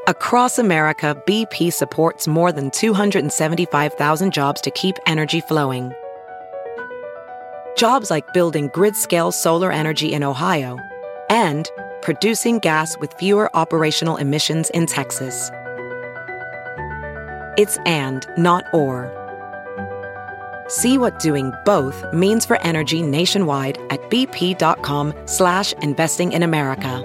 Across America, BP supports more than 275,000 jobs to keep energy flowing. Jobs like building grid-scale solar energy in Ohio and producing gas with fewer operational emissions in Texas. It's and, not or. See what doing both means for energy nationwide at bp.com/investing in America.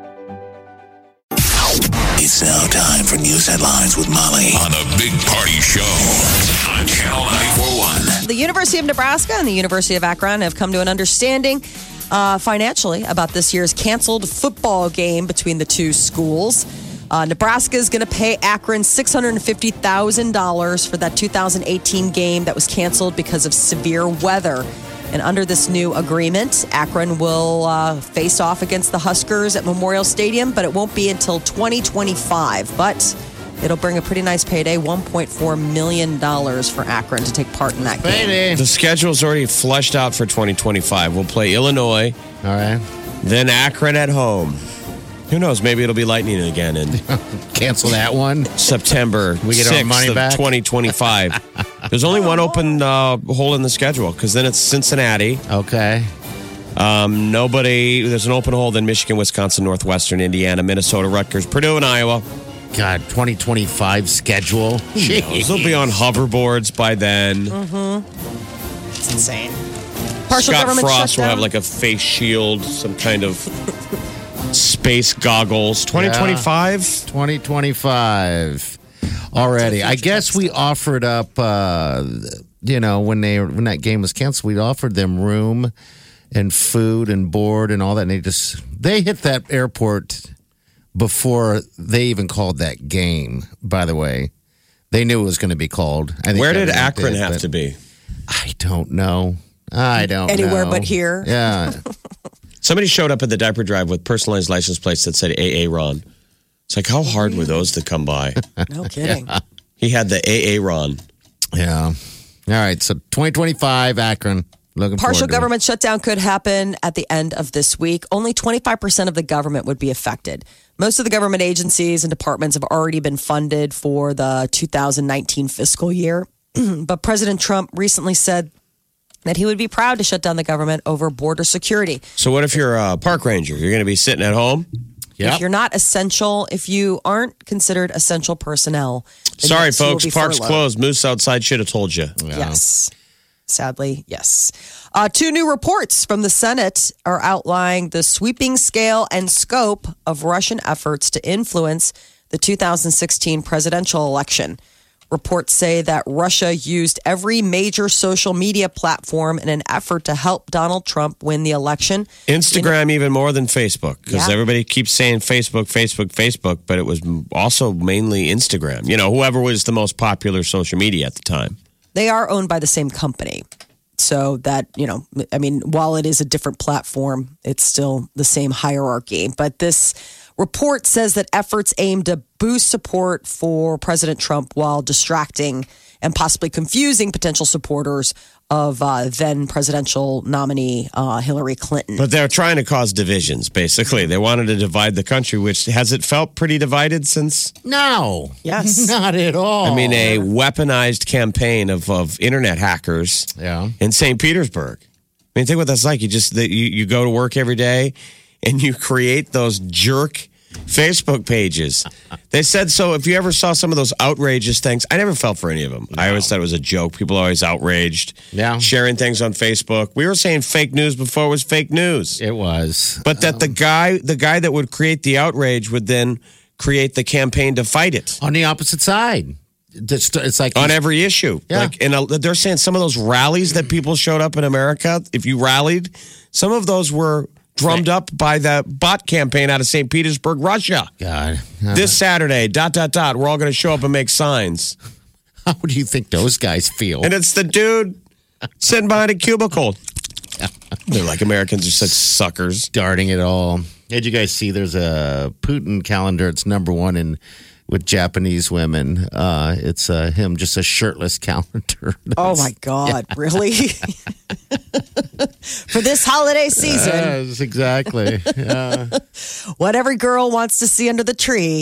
It's now time for news headlines with Molly on the Big Party Show on Channel 941. The University of Nebraska and the University of Akron have come to an understanding financially about this year's canceled football game between the two schools. Nebraska is going to pay Akron $650,000 for that 2018 game that was canceled because of severe weather. And under this new agreement, Akron will face off against the Huskers at Memorial Stadium, but it won't be until 2025. But it'll bring a pretty nice payday, $1.4 million for Akron to take part in that game. The schedule's already fleshed out for 2025. We'll play Illinois. All right. Then Akron at home. Who knows? Maybe it'll be lightning again in Cancel that one. September We get 6th our money of back? 2025. There's only one open hole in the schedule because then it's Cincinnati. Okay. There's an open hole, then Michigan, Wisconsin, Northwestern, Indiana, Minnesota, Rutgers, Purdue, and Iowa. God, 2025 schedule. They'll be on hoverboards by then. It's insane. Partial Scott government Frost will shutdown. have like a face shield, some kind of space goggles. 2025? 2025 already. I guess we offered up, when that game was canceled, we offered them room and food and board and all that. And they hit that airport before they even called that game, by the way. They knew it was going to be called. I think Where did everyone Akron have but to be? I don't know. Anywhere but here. Yeah. Somebody showed up at the diaper drive with personalized license plates that said AA Ron. It's like, how hard were those to come by? No kidding. He had the AA Ron. Yeah. All right. So 2025 Akron. Looking Partial forward to government shutdown could happen at the end of this week. Only 25% of the government would be affected. Most of the government agencies and departments have already been funded for the 2019 fiscal year. But President Trump recently said that he would be proud to shut down the government over border security. So what if you're a park ranger? You're going to be sitting at home? Yep. If you're not essential, if you aren't considered essential personnel. then Sorry, yes, you will folks. be Park's furloughed. closed. Moose outside should have told you. Yes. Sadly, yes. Two new reports from the Senate are outlining the sweeping scale and scope of Russian efforts to influence the 2016 presidential election. Reports say that Russia used every major social media platform in an effort to help Donald Trump win the election. Instagram even more than Facebook because Yeah. everybody keeps saying Facebook, but it was also mainly Instagram. Whoever was the most popular social media at the time. They are owned by the same company. So that, while it is a different platform, it's still the same hierarchy. But this report says that efforts aim to boost support for President Trump while distracting and possibly confusing potential supporters of then presidential nominee Hillary Clinton. But they're trying to cause divisions, basically. They wanted to divide the country, which has it felt pretty divided since? No. Yes. Not at all. I mean, a weaponized campaign of internet hackers in St. Petersburg. I mean, think what that's like. You go to work every day and you create those jerk Facebook pages. They said so. If you ever saw some of those outrageous things, I never fell for any of them. I always thought it was a joke. People are always outraged. Yeah. Sharing things on Facebook. We were saying fake news before it was fake news. It was. But that the guy that would create the outrage would then create the campaign to fight it. On the opposite side. It's like On every issue. Yeah. They're saying some of those rallies that people showed up in America, if you rallied, some of those were drummed up by the bot campaign out of St. Petersburg, Russia. God. This Saturday, ... We're all going to show up and make signs. How do you think those guys feel? And it's the dude sitting behind a cubicle. They're like, Americans are such suckers. Darting it all. Did you guys see there's a Putin calendar? It's #1 with Japanese women. It's him, just a shirtless calendar. Oh, my God. Really? For this holiday season. Yes, exactly. Yeah. What every girl wants to see under the tree.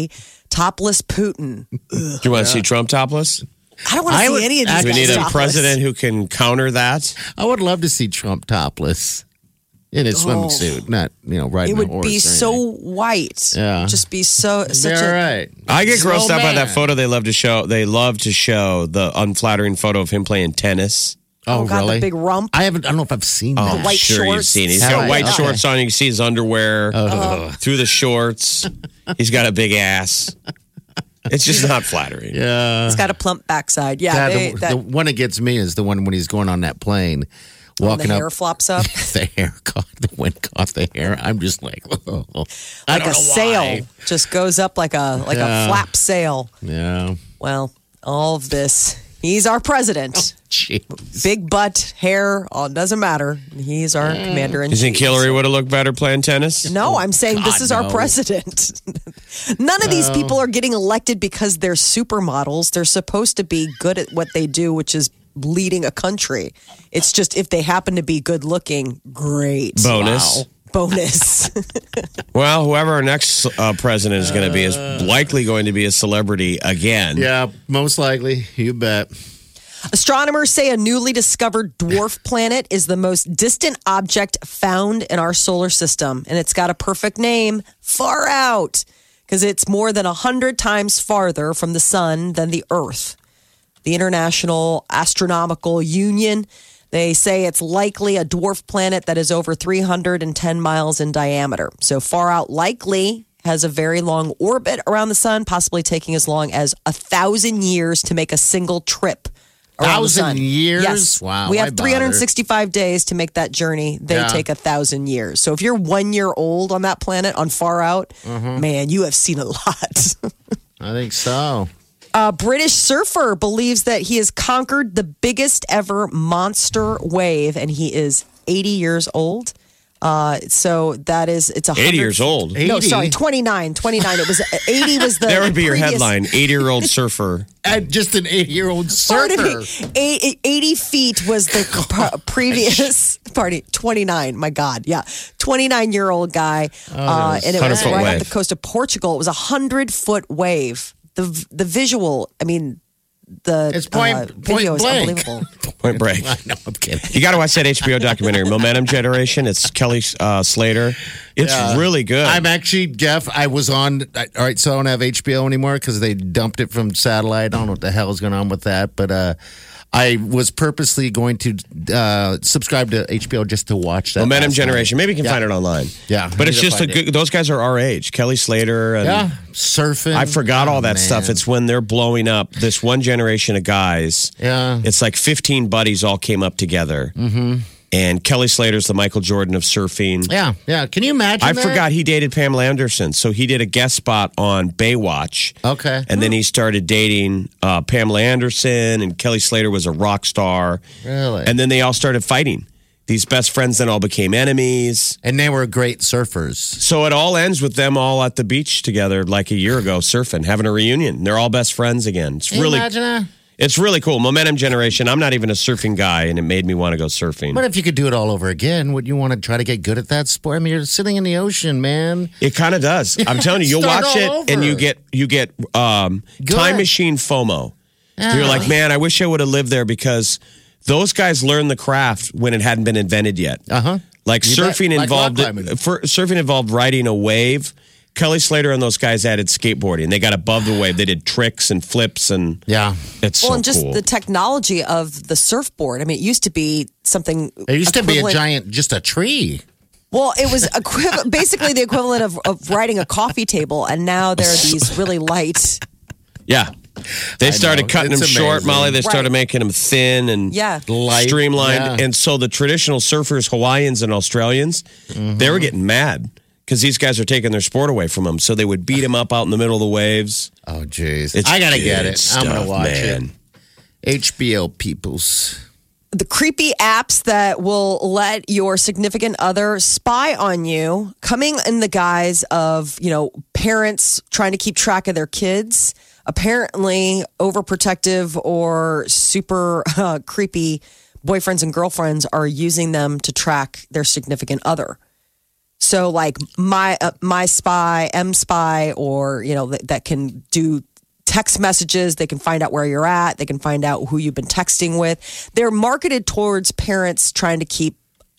Topless Putin. Do you want to see Trump topless? I don't want to see any of these We guys need a topless. president who can counter that. I would love to see Trump topless in his swimsuit, not riding It would a horse. be or so anything. white. Yeah. Just be such All a... right. I get grossed Slow out by that man. photo they love to show. They love to show the unflattering photo of him playing tennis. Oh, God, really? the big rump. I don't know if I've seen that. I'm white sure you've shorts. seen it. He's Have got I? white Okay. shorts on. You can see his underwear through the shorts. He's got a big ass. It's just not flattering. Yeah. It's got a plump backside. Yeah, the one that gets me is the one when he's going on that plane, walking the up. hair flops up. The hair caught, the wind caught the hair. I'm just like, oh, I Like don't a know sail. why. Just goes up like a flap sail. Yeah. Well, all of this. He's our president. Jeez. Big butt, hair, all doesn't matter. He's our commander in You think chief. Hillary would have looked better playing tennis? No, I'm saying this God, is our no. president. None of these people are getting elected because they're supermodels. They're supposed to be good at what they do, which is leading a country. It's just if they happen to be good looking, great. Bonus. Wow. Bonus. Well, whoever our next president is going to be is likely going to be a celebrity again. Yeah, most likely. You bet. Astronomers say a newly discovered dwarf planet is the most distant object found in our solar system. And it's got a perfect name, Far Out, because it's more than 100 times farther from the sun than the Earth. The International Astronomical Union, they say it's likely a dwarf planet that is over 310 miles in diameter. So Far Out likely has a very long orbit around the sun, possibly taking as long as 1,000 years to make a single trip around the sun. 1,000 years? Yes. Wow, We why have bother? 365 days to make that journey. They Yeah. take 1,000 years. So if you're 1 year old on that planet, on Far Out, man, you have seen a lot. I think so. A British surfer believes that he has conquered the biggest ever monster wave, and he is 80 years old. So that is, it's 80 years old. No, 80? sorry, 29. It was 80 was the. That would be your previous- headline 80-year-old surfer. Just an 80-year-old Pardon surfer. me. 80 feet was the previous. Pardon, 29. My God, yeah, 29-year-old guy, and it was 100-foot right wave. off the coast of Portugal. It was a 100-foot wave. The visual, I mean, the It's point video is blank. unbelievable. Point break. I know, I'm kidding. You got to watch that HBO documentary, Momentum Generation. It's Kelly Slater. It's really good. I'm actually, Jeff, I was on, all right, so I don't have HBO anymore because they dumped it from satellite. I don't know what the hell is going on with that, but I was purposely going to subscribe to HBO just to watch that. Momentum last night. Generation. Maybe you can find it online. Yeah, But I it's need to just a find it. good, those guys are our age. Kelly Slater. And Yeah, surfing. I forgot all that Oh, stuff. man. It's when they're blowing up. This one generation of guys. Yeah. It's like 15 buddies all came up together. Mm-hmm. And Kelly Slater's the Michael Jordan of surfing. Yeah. Can you imagine I that? forgot he dated Pamela Anderson. So he did a guest spot on Baywatch. Okay. And then he started dating Pamela Anderson, and Kelly Slater was a rock star. Really? And then they all started fighting. These best friends then all became enemies. And they were great surfers. So it all ends with them all at the beach together like a year ago, surfing, having a reunion. They're all best friends again. It's Can you really, imagine that? it's really cool. Momentum Generation. I'm not even a surfing guy, and it made me want to go surfing. But if you could do it all over again, would you want to try to get good at that sport? I mean, you're sitting in the ocean, man. It kind of does. I'm telling you, you'll Start watch all it and over. you get time machine FOMO. You're like, man, I wish I would have lived there because those guys learned the craft when it hadn't been invented yet. Like You surfing bet. Like involved rock climbing. surfing involved riding a wave. Kelly Slater and those guys added skateboarding. They got above the wave. They did tricks and flips and Yeah. it's Well, so and just cool. the technology of the surfboard. I mean, it used to be something. It used to be a equivalent- giant, just a tree. Well, it was basically the equivalent of riding a coffee table, and now there are these really light. Yeah. They started know. cutting It's them short, amazing. Molly. They started Right. making them thin and Yeah. Light, streamlined. yeah. And so the traditional surfers, Hawaiians and Australians, they were getting mad because these guys are taking their sport away from them. So they would beat them up out in the middle of the waves. Oh, jeez. It's I got to get good it. I'm going stuff, to watch man. it. HBO peoples. The creepy apps that will let your significant other spy on you, coming in the guise of, parents trying to keep track of their kids. Apparently, overprotective or super creepy boyfriends and girlfriends are using them to track their significant other. So like my Spy, M Spy, or that can do text messages. They can find out where you're at. They can find out who you've been texting with. They're marketed towards parents trying to keep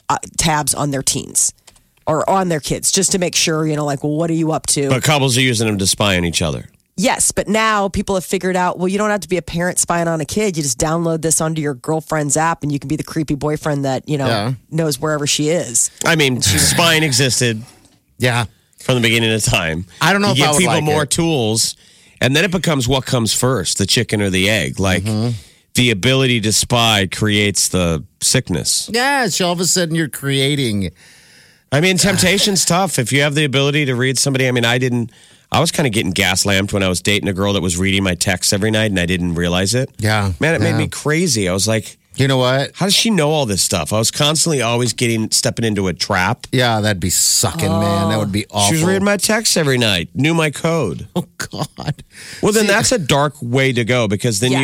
tabs on their teens or on their kids, just to make sure, like, well, what are you up to? But couples are using them to spy on each other. Yes, but now people have figured out, well, you don't have to be a parent spying on a kid. You just download this onto your girlfriend's app and you can be the creepy boyfriend that, knows wherever she is. I mean, spying existed. Yeah. From the beginning of time. I don't know if you I give would people like more it. tools, and then it becomes what comes first, the chicken or the egg. Like, the ability to spy creates the sickness. Yeah, so all of a sudden you're creating. I mean, temptation's tough. If you have the ability to read somebody, I mean, I was kind of getting gas-lamped when I was dating a girl that was reading my texts every night, and I didn't realize it. Yeah. Man, it made me crazy. I was like, you know what? How does she know all this stuff? I was constantly always stepping into a trap. Yeah, that'd be sucking, man. That would be awful. She was reading my texts every night, knew my code. Oh, God. Well, then that's a dark way to go, because then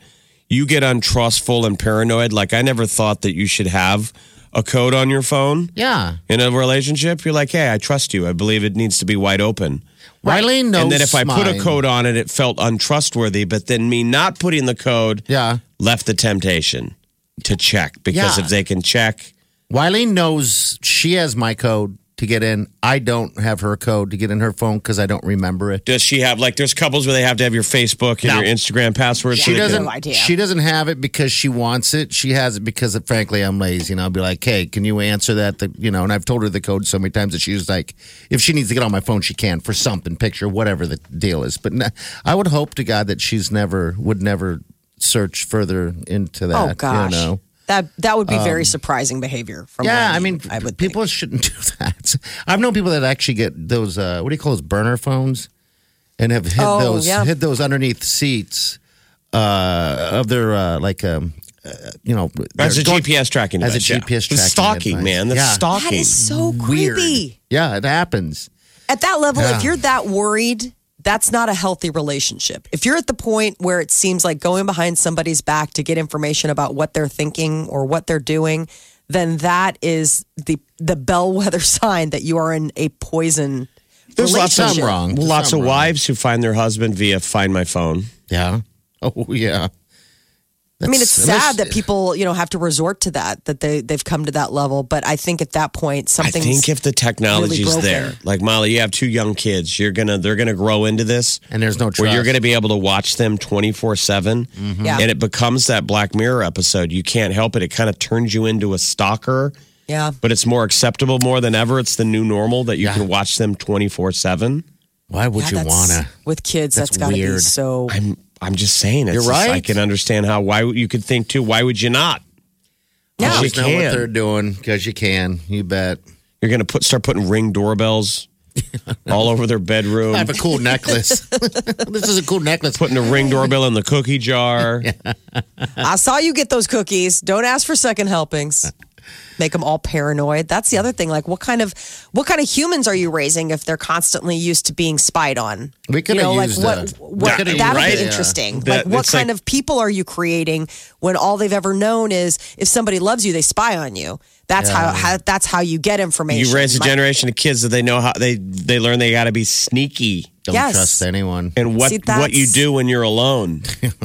you get untrustful and paranoid. Like, I never thought that you should have a code on your phone. Yeah. In a relationship, you're like, hey, I trust you. I believe it needs to be wide open. Riley knows. And then if I put a code on it, it felt untrustworthy. But then me not putting the code left the temptation to check. Because if they can check. Wiley knows she has my code to get in. I don't have her code to get in her phone because I don't remember it. Does she have, like, there's couples where they have to have your Facebook and your Instagram password? She doesn't. She doesn't have it because she wants it. She has it because, frankly, I'm lazy. And I'll be like, hey, can you answer that? And I've told her the code so many times that she's like, if she needs to get on my phone, she can for something, picture, whatever the deal is. But I would hope to God that she's would never search further into that. Oh, gosh. That would be very surprising behavior from I would people shouldn't do that. I've known people that actually get those what do you call those burner phones and have hid those underneath seats of their as a GPS tracking as device, a GPS tracking stalking device. man. That's stalking. That is so Weird. creepy. Yeah, it happens. At that level, if you're that worried, that's not a healthy relationship. If you're at the point where it seems like going behind somebody's back to get information about what they're thinking or what they're doing, then that is the bellwether sign that you are in a poison There's relationship. lots of wives who find their husband via Find My Phone. Yeah. Oh, yeah. I mean, it's sad that people, have to resort to that they've come to that level. But I think at that point, something. I think if the technology's really there, like Molly, you have 2 young kids, they're gonna grow into this, and there's no trust. Where you're gonna be able to watch them 24/7, Yeah. and it becomes that Black Mirror episode. You can't help it; it kind of turns you into a stalker. Yeah, but it's more acceptable more than ever. It's the new normal that you can watch them 24/7. Why would you wanna? With kids, that's got to be so. I'm just saying. It's You're right. I can understand why you could think too. Why would you not? Yeah, Always know what they're doing because you can. You bet. You're going to start putting Ring doorbells all over their bedroom. I have a cool necklace. This is a cool necklace. Putting a Ring doorbell in the cookie jar. I saw you get those cookies. Don't ask for second helpings. Make them all paranoid. That's the other thing. Like, what kind of humans are you raising if they're constantly used to being spied on? We could have used that would be interesting. Like, what kind of people are you creating when all they've ever known is if somebody loves you, they spy on you. That's how you get information. You raise a generation of kids that they know how they learn they got to be sneaky. Don't trust anyone. And what you do when you're alone.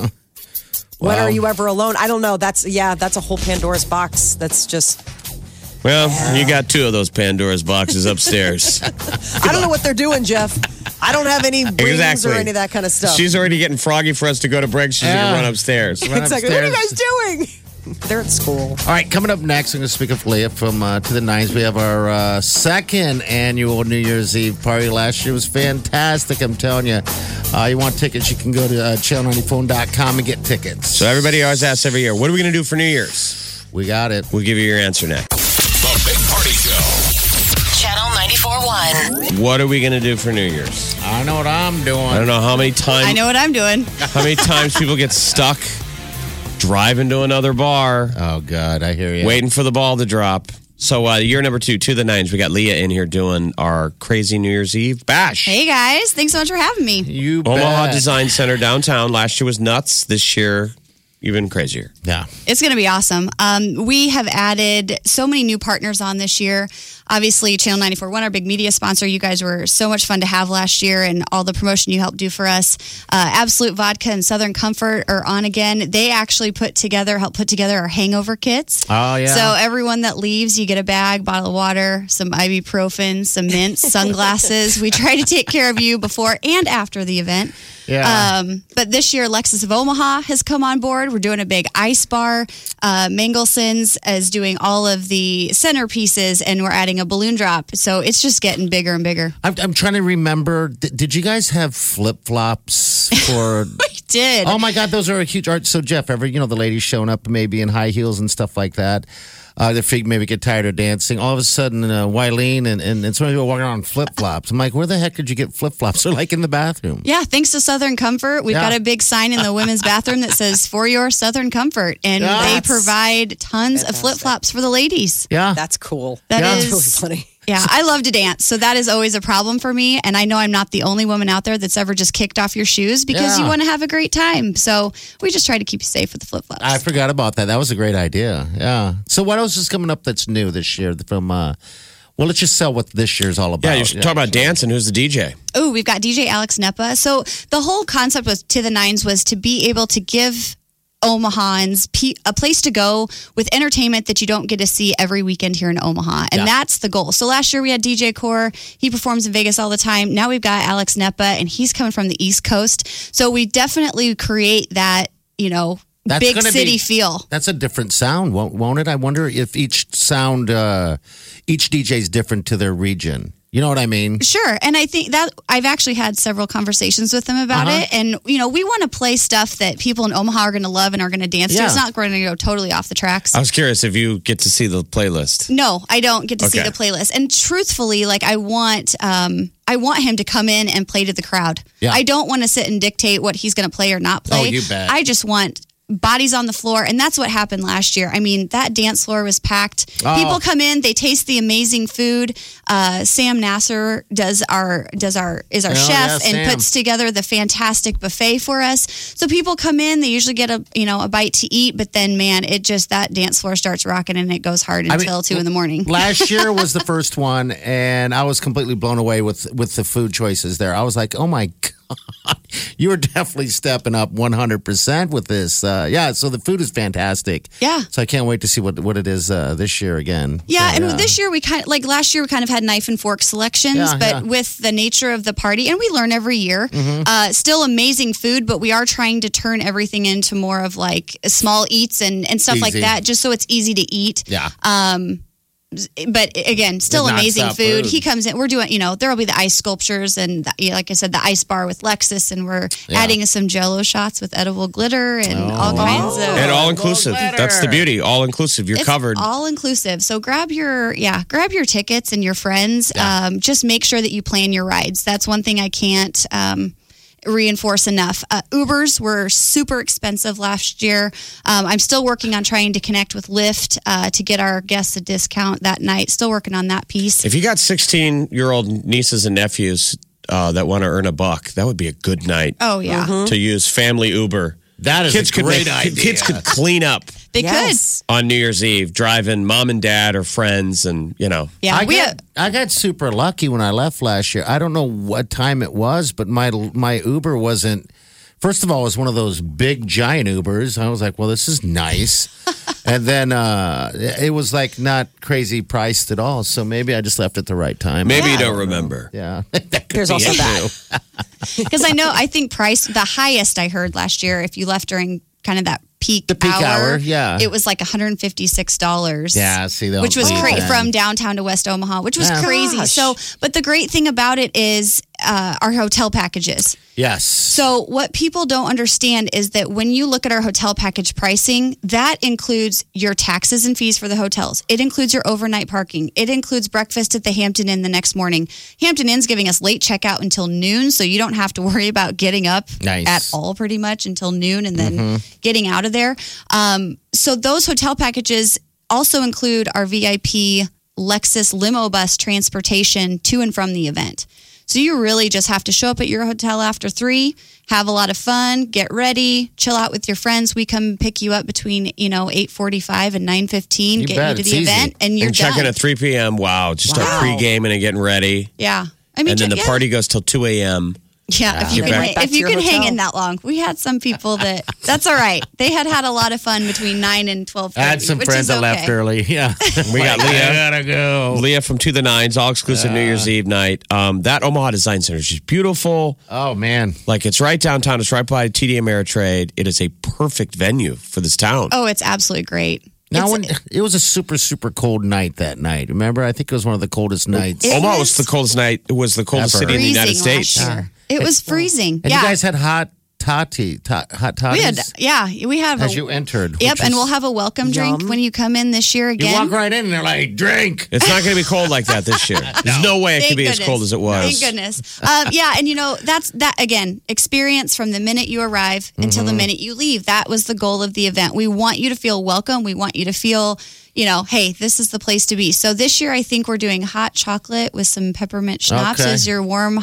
When are you ever alone? I don't know. That's a whole Pandora's box. That's just. Well, you got 2 of those Pandora's boxes upstairs. I don't know what they're doing, Jeff. I don't have any rings or any of that kind of stuff. She's already getting froggy for us to go to break. She's going to run upstairs. Exactly. What are you guys doing? They're at school. All right, coming up next, I'm going to speak of Leah from To the Nines. We have our second annual New Year's Eve party. Last year was fantastic, I'm telling you. You want tickets, you can go to channel90phone.com and get tickets. So everybody always asks every year, what are we going to do for New Year's? We got it. We'll give you your answer next. The Big Party Show. Channel 94.1. What are we going to do for New Year's? I know what I'm doing. I don't know how many times. I know what I'm doing. How many times people get stuck driving to another bar. Oh, God, I hear you. Waiting for the ball to drop. So year number 2, To the Nines. We got Leah in here doing our crazy New Year's Eve bash. Hey, guys. Thanks so much for having me. You Omaha bet. Design Center downtown. Last year was nuts. This year, even crazier. Yeah. It's going to be awesome. We have added so many new partners on this year. Obviously, Channel 94.1, our big media sponsor. You guys were so much fun to have last year, and all the promotion you helped do for us. Absolute Vodka and Southern Comfort are on again. They actually helped put together our hangover kits. Oh, yeah. So everyone that leaves, you get a bag, bottle of water, some ibuprofen, some mints, sunglasses. We try to take care of you before and after the event. Yeah. But this year, Lexus of Omaha has come on board. We're doing a big ice bar. Mangelson's is doing all of the centerpieces, and we're adding a balloon drop. So it's just getting bigger and bigger. I'm trying to remember. Did you guys have flip-flops for... We did. Oh, my God. Those are a huge art. So, Jeff, the ladies showing up maybe in high heels and stuff like that. Their feet maybe get tired of dancing. All of a sudden, Wileen and some people walking around in flip-flops. I'm like, where the heck did you get flip-flops? They're like in the bathroom. Yeah, thanks to Southern Comfort. We've got a big sign in the women's bathroom that says, "For your Southern Comfort." And they provide tons of flip-flops for the ladies. Yeah. That's cool. That's really funny. Yeah, I love to dance. So that is always a problem for me. And I know I'm not the only woman out there that's ever just kicked off your shoes because you want to have a great time. So we just try to keep you safe with the flip-flops. I forgot about that. That was a great idea. Yeah. So what else is coming up that's new this year from... well, let's just sell what this year's all about. Yeah, you should talk about dancing. Who's the DJ? Oh, we've got DJ Alex Nepa. So the whole concept was To the Nines was to be able to give Omahans a place to go with entertainment that you don't get to see every weekend here in Omaha. And that's the goal. So last year we had DJ Core. He performs in Vegas all the time. Now we've got Alex Nepa, and he's coming from the East Coast. So we definitely create that, big city feel. That's a different sound, won't it? I wonder if each sound, each DJ is different to their region. You know what I mean? Sure. And I think that I've actually had several conversations with them about it. And, we want to play stuff that people in Omaha are going to love and are going to dance to. It's not going to go totally off the tracks. I was curious if you get to see the playlist. No, I don't get to see the playlist. And truthfully, I want him to come in and play to the crowd. Yeah. I don't want to sit and dictate what he's going to play or not play. Oh, you bet. I just want bodies on the floor, and that's what happened last year. I mean, that dance floor was packed. People come in, they taste the amazing food. Sam Nasser is our chef and puts together the fantastic buffet for us. So people come in, they usually get a bite to eat, but then that dance floor starts rocking and it goes hard until 2 a.m. Last year was the first one, and I was completely blown away with the food choices there. I was like, oh my God. You were definitely stepping up 100% with this. So the food is fantastic. Yeah. So I can't wait to see what it is this year again. Yeah, and this year last year we kind of had knife and fork selections, but with the nature of the party, and we learn every year, still amazing food, but we are trying to turn everything into more of small eats and stuff like that, just so it's easy to eat. Yeah. But again, still amazing food. He comes in. We're doing, there will be the ice sculptures and, like I said, the ice bar with Lexus, and we're adding some Jell-O shots with edible glitter and all kinds of. And all inclusive. That's the beauty. All inclusive. It's covered. All inclusive. So grab your tickets and your friends. Yeah. Just make sure that you plan your rides. That's one thing I can't reinforce enough. Ubers were super expensive last year. I'm still working on trying to connect with Lyft to get our guests a discount that night. Still working on that piece. If you got 16-year-old nieces and nephews that want to earn $1, that would be a good night. Oh, yeah. To use family Uber. That is a great idea. Kids could clean up. They could. On New Year's Eve, driving mom and dad or friends and, Yeah, I got super lucky when I left last year. I don't know what time it was, but my Uber wasn't... First of all, it was one of those big, giant Ubers. I was like, well, this is nice. And then it was not crazy priced at all. So maybe I just left at the right time. Maybe you don't remember. Yeah. There's also that. Because I think the highest I heard last year, if you left during kind of that peak hour, yeah. It was $156. Yeah, see that. Which was crazy from downtown to West Omaha, which was crazy. Gosh. So, but the great thing about it is our hotel packages. Yes. So what people don't understand is that when you look at our hotel package pricing, that includes your taxes and fees for the hotels. It includes your overnight parking. It includes breakfast at the Hampton Inn the next morning. Hampton Inn's giving us late checkout until noon, so you don't have to worry about getting up at all pretty much until noon and then getting out of there. So those hotel packages also include our VIP Lexus limo bus transportation to and from the event. So you really just have to show up at your hotel after 3, have a lot of fun, get ready, chill out with your friends. We come pick you up between 8:45 and 9:15, get you to the event, and you're check in done. at 3 p.m. Wow, just start pre-gaming and getting ready. Yeah, and then the party goes till 2 a.m. Yeah, if you can hang in that long. We had some people that's all right. They had a lot of fun between 9 and 12:30. I had some friends that left early. Yeah. We got Leah. I gotta go. Leah from To the Nines, all exclusive New Year's Eve night. That Omaha Design Center is just beautiful. Oh, man. Like, it's right downtown. It's right by TD Ameritrade. It is a perfect venue for this town. Oh, it's absolutely great. Now, it was a super, super cold night that night. Remember? I think it was one of the coldest nights. Omaha was the coldest night. It was the coldest city in the United States. It was freezing. And you guys had hot toddies? We had as you entered. Yep, and we'll have a welcome drink when you come in this year again. You walk right in and they're like, drink. It's not going to be cold like that this year. There's no way it could be as cold as it was. Thank goodness. And that's that again, experience from the minute you arrive until the minute you leave. That was the goal of the event. We want you to feel welcome. We want you to feel hey, this is the place to be. So this year, I think we're doing hot chocolate with some peppermint schnapps as your warm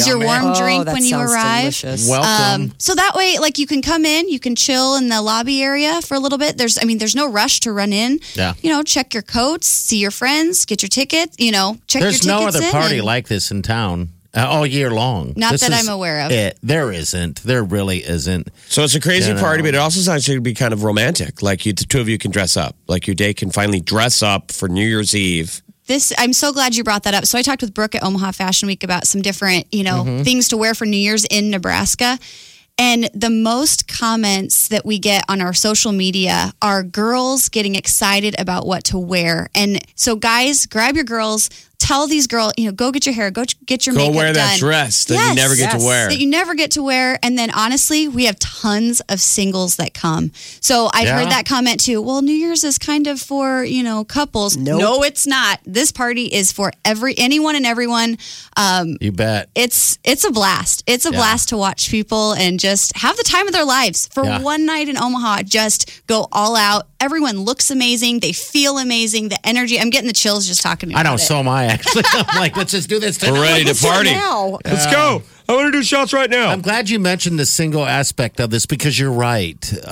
drink when you arrive. Delicious. Welcome. So that way, like, you can come in, you can chill in the lobby area for a little bit. There's no rush to run in. Yeah. Check your coats, see your friends, get your tickets. Check your tickets. There's no other party like this in town. All year long. Not that I'm aware of. There isn't. There really isn't. So it's a crazy party, but it also sounds like it would be kind of romantic. Like the two of you can dress up. Like your day can finally dress up for New Year's Eve. I'm so glad you brought that up. So I talked with Brooke at Omaha Fashion Week about some different, things to wear for New Year's in Nebraska. And the most comments that we get on our social media are girls getting excited about what to wear. And so guys, grab your girls. Tell these girls, go get your hair, go get your makeup done. Go wear that dress that you never get to wear. That you never get to wear. And then honestly, we have tons of singles that come. So I've heard that comment too. Well, New Year's is kind of for, couples. Nope. No, it's not. This party is for anyone and everyone. You bet. It's a blast. It's a blast to watch people and just have the time of their lives. For one night in Omaha, just go all out. Everyone looks amazing. They feel amazing. The energy. I'm getting the chills just talking about it. I know, so am I, actually. I'm like, let's just do this tonight. We're ready to party. Let's go. I want to do shots right now. I'm glad you mentioned the single aspect of this because you're right.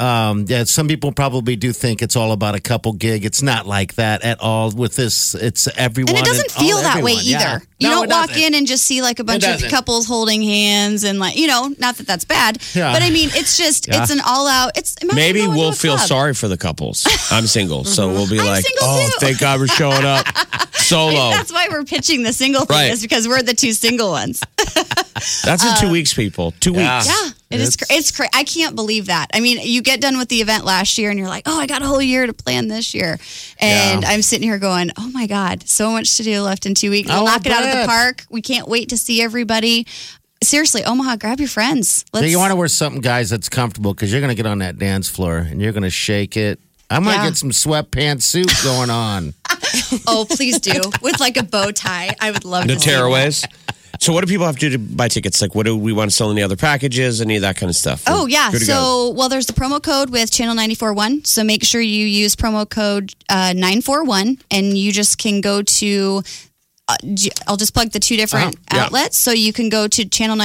Some people probably do think it's all about a couple gig. It's not like that at all with this. It's everyone. And it doesn't feel that way either. Yeah. You No, don't walk in and just see like a bunch of couples holding hands and not that that's bad. Yeah. But I mean, it's just, it's an all out. Maybe we'll feel sorry for the couples. I'm single, so we'll be like, single too. Thank God we're showing up solo. That's why we're pitching the single thing is because we're the two single ones. That's in 2 weeks, people. 2 weeks. Yeah, it's crazy. I can't believe that. I mean, you get done with the event last year and you're like, oh, I got a whole year to plan this year. And I'm sitting here going, oh my God, so much to do left in 2 weeks. We'll knock it out of the park. We can't wait to see everybody. Seriously, Omaha, grab your friends. You want to wear something, guys, that's comfortable because you're going to get on that dance floor and you're going to shake it. I might get some sweatpants suit going on. Oh, please do. With like a bow tie. I would love to. The tearaways. So what do people have to do to buy tickets? Like, what do we want to sell? Any other packages? Any of that kind of stuff? Oh, yeah. So, there's the promo code with Channel 94.1. So make sure you use promo code 941, and you just can go to... I'll just plug the two different outlets. So you can go to Channel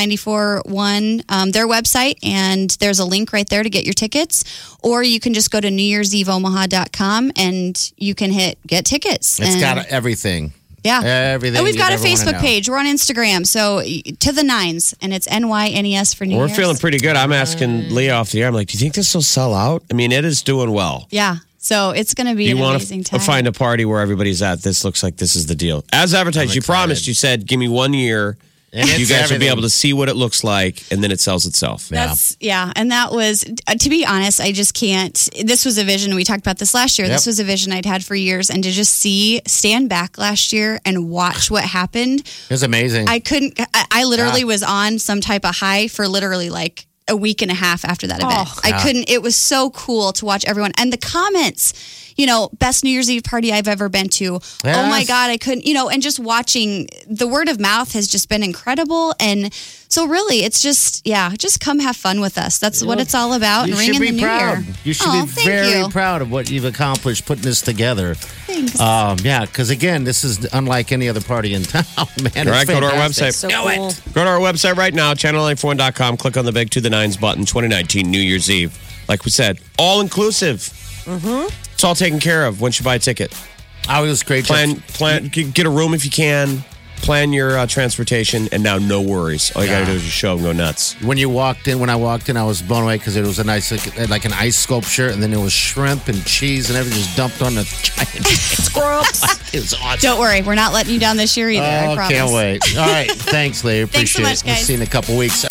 94.1, their website, and there's a link right there to get your tickets. Or you can just go to NewYear'sEveOmaha.com and you can hit get tickets. It's got everything. Yeah. Everything. And we've got a Facebook page. We're on Instagram. So To the Nines, and it's NYNES for New Year's. We're feeling pretty good. I'm asking Leah off the air. I'm like, do you think this will sell out? I mean, it is doing well. Yeah. So it's going to be an amazing time. You want to find a party where everybody's at. This looks like this is the deal. As advertised, you promised, you said, give me 1 year. And you guys will be able to see what it looks like, and then it sells itself. And that was, to be honest, I just can't. This was a vision. We talked about this last year. Yep. This was a vision I'd had for years. And to just stand back last year and watch what happened. It was amazing. I literally was on some type of high for literally like a week and a half after that event. I couldn't. It was so cool to watch everyone. And the comments, best New Year's Eve party I've ever been to. Yes. Oh my God, I couldn't, and just watching the word of mouth has just been incredible. And so really, it's just come have fun with us. That's what it's all about. You and should ring in be the proud. New Year. You should be very proud of what you've accomplished putting this together. Thanks. Yeah, because again, this is unlike any other party in town, man. All right, go to our fantastic. website. So cool. Go to our website right now, channel94.com. Click on the big to the nines button, 2019 New Year's Eve. Like we said, all inclusive. Mm-hmm. It's all taken care of once you buy a ticket. Oh, it was great. Plan, get a room if you can. Plan your transportation, and now no worries. All you got to do is just show up and go nuts. When I walked in, I was blown away because it was a nice, like an ice sculpture, and then there was shrimp and cheese and everything just dumped on the giant Scrubs. It was awesome. Don't worry, we're not letting you down this year either. I promise. Can't wait. All right, thanks, Leah. Thanks so Appreciate much, it. We'll guys. see you in a couple weeks.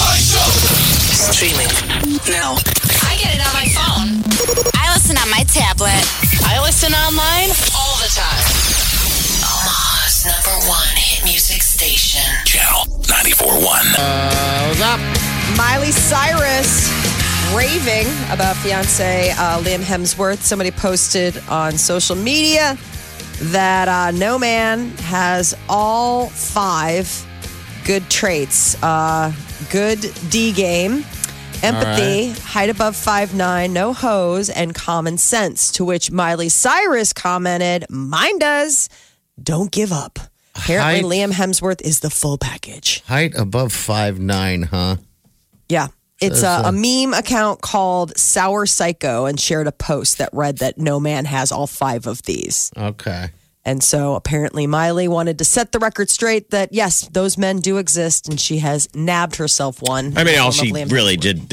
Streaming now. I get it on my phone. I listen on my tablet. I listen online all the time. Omaha's #1 hit music station. Channel 94.1. What's up? Miley Cyrus raving about fiance Liam Hemsworth. Somebody posted on social media that no man has all 5 good traits. Good D game, empathy, height above 5'9", no hose, and common sense. To which Miley Cyrus commented, "Mine does. Don't give up." Apparently, Liam Hemsworth is the full package. Height above 5'9", huh? Yeah. It's a meme account called Sour Psycho and shared a post that read that no man has all 5 of these. Okay. And so apparently Miley wanted to set the record straight that, yes, those men do exist, and she has nabbed herself one. I mean, all she really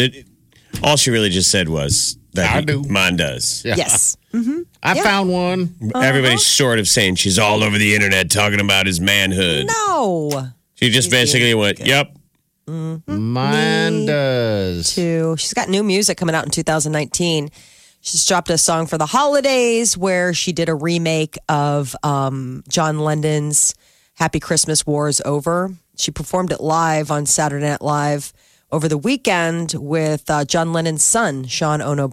just said was that I do. Mine does. Yeah. Yes. I found one. Everybody's sort of saying she's all over the internet talking about his manhood. No. She just basically went, yep. Mine does. She's got new music coming out in 2019. She's dropped a song for the holidays where she did a remake of John Lennon's Happy Christmas, War is Over. She performed it live on Saturday Night Live over the weekend with John Lennon's son, Sean Ono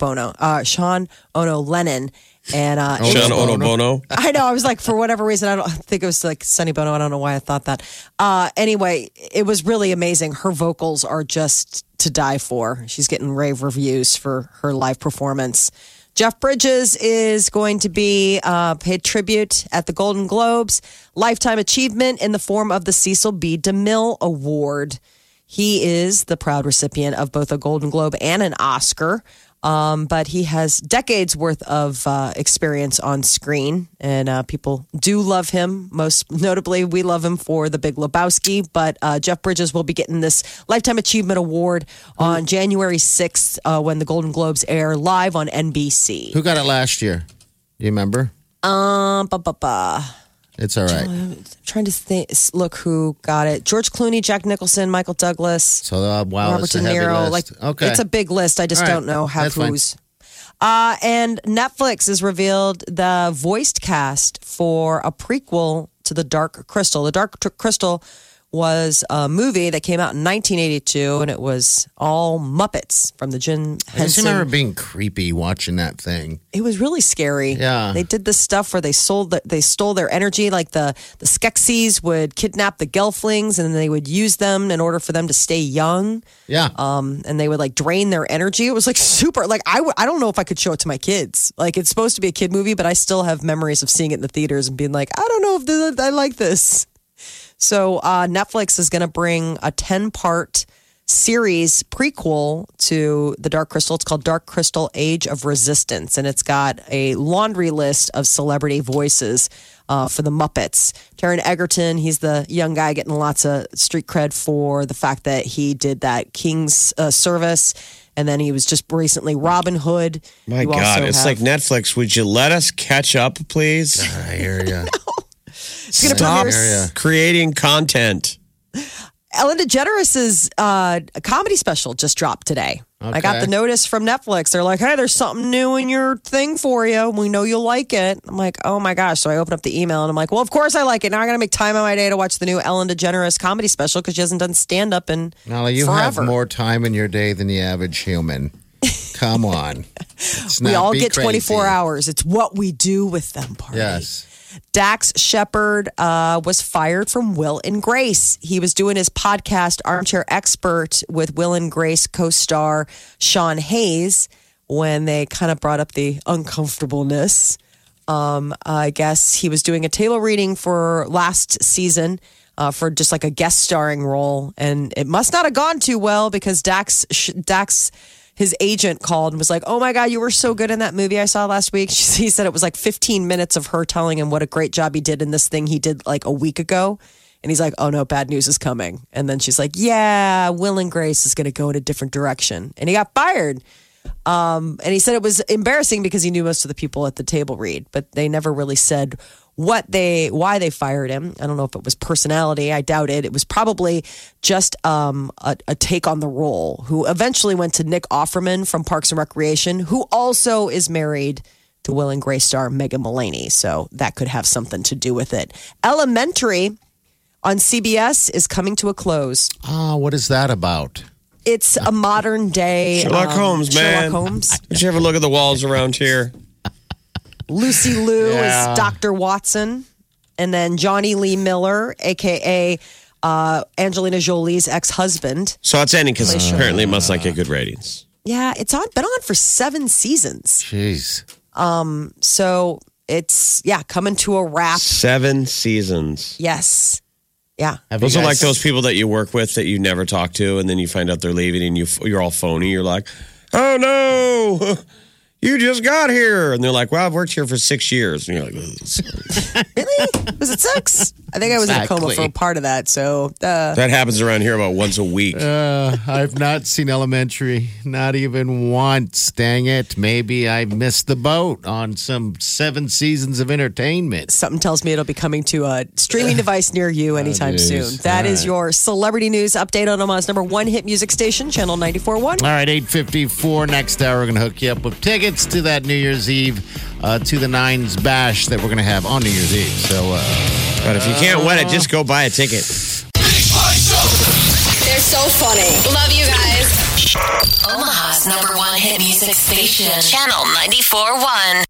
Lennon. And Sean Ono Bono. I know. I was like, for whatever reason, I don't think it was like Sonny Bono. I don't know why I thought that. Anyway, it was really amazing. Her vocals are just to die for. She's getting rave reviews for her live performance. Jeff Bridges is going to be paid tribute at the Golden Globes. Lifetime achievement in the form of the Cecil B. DeMille Award. He is the proud recipient of both a Golden Globe and an Oscar. But he has decades worth of experience on screen, and people do love him. Most notably, we love him for The Big Lebowski. But Jeff Bridges will be getting this Lifetime Achievement Award on January 6th when the Golden Globes air live on NBC. Who got it last year? Do you remember? It's all right. I'm trying to think. Look who got it: George Clooney, Jack Nicholson, Michael Douglas. So wow, Robert it's a De heavy Niro. list. Like, okay, it's a big list. I just All right. don't know That's fine. who's. And Netflix has revealed the voiced cast for a prequel to The Dark Crystal. The Dark Crystal was a movie that came out in 1982, and it was all Muppets from the Jim I just Henson. remember being creepy watching that thing. It was really scary. Yeah. They did this stuff where they stole their energy. Like the Skeksis would kidnap the Gelflings, and they would use them in order for them to stay young. Yeah. And they would like drain their energy. It was like super, like I don't know if I could show it to my kids. Like it's supposed to be a kid movie, but I still have memories of seeing it in the theaters and being like, I don't know if I like this. So Netflix is going to bring a 10-part series prequel to The Dark Crystal. It's called Dark Crystal Age of Resistance, and it's got a laundry list of celebrity voices for the Muppets. Taron Egerton, he's the young guy getting lots of street cred for the fact that he did that King's Service, and then he was just recently Robin Hood. My God, it's like Netflix. Would you let us catch up, please? I hear you. Stop creating content. Ellen DeGeneres' comedy special just dropped today. Okay. I got the notice from Netflix. They're like, hey, there's something new in your thing for you. We know you'll like it. I'm like, oh my gosh. So I open up the email and I'm like, well, of course I like it. Now I got to make time on my day to watch the new Ellen DeGeneres comedy special because she hasn't done stand up in Molly, you forever. have more time in your day than the average human. Come on. We all get 24 hours. It's what we do with them, Party. Yes. Dax Shepard was fired from Will and Grace. He was doing his podcast, Armchair Expert, with Will and Grace co-star Sean Hayes when they kind of brought up the uncomfortableness I guess he was doing a table reading for last season for just like a guest starring role. And it must not have gone too well because Dax, his agent called and was like, oh my God, you were so good in that movie I saw last week. He said it was like 15 minutes of her telling him what a great job he did in this thing he did like a week ago. And he's like, oh no, bad news is coming. And then she's like, yeah, Will and Grace is going to go in a different direction. And he got fired. And he said it was embarrassing because he knew most of the people at the table read, but they never really said why they fired him. I don't know if it was personality. I doubt it. It was probably just a take on the role, who eventually went to Nick Offerman from Parks and Recreation, who also is married to Will and Grace star Megan Mullany. So that could have something to do with it. Elementary on CBS is coming to a close. What is that about? It's a modern day Sherlock Holmes, man. Sherlock Holmes. Did you ever look at the walls around here? Lucy Liu is Dr. Watson. And then Johnny Lee Miller, a.k.a. Angelina Jolie's ex-husband. So it's ending because apparently it must not get good ratings. Yeah, it's been on for 7 seasons. Jeez. So it's, coming to a wrap. 7 seasons. Yes. Yeah. Those are like those people that you work with that you never talk to, and then you find out they're leaving, and you're all phony. You're like, oh no, you just got here. And they're like, well, I've worked here for 6 years. And you're like, really? Was it 6? I think I was in a coma for a part of that. So that happens around here about once a week. I've not seen Elementary, not even once. Dang it. Maybe I missed the boat on some 7 seasons of entertainment. Something tells me it'll be coming to a streaming device near you anytime soon. That is your celebrity news update on Omaha's #1 hit music station, Channel 94.1. All right, 8:54. Next hour, we're going to hook you up with tickets to that New Year's Eve, to the Nines Bash that we're going to have on New Year's Eve. So, but if you can't win it, just go buy a ticket. They're so funny. Love you guys. Omaha's #1 hit music station, Channel 94.1.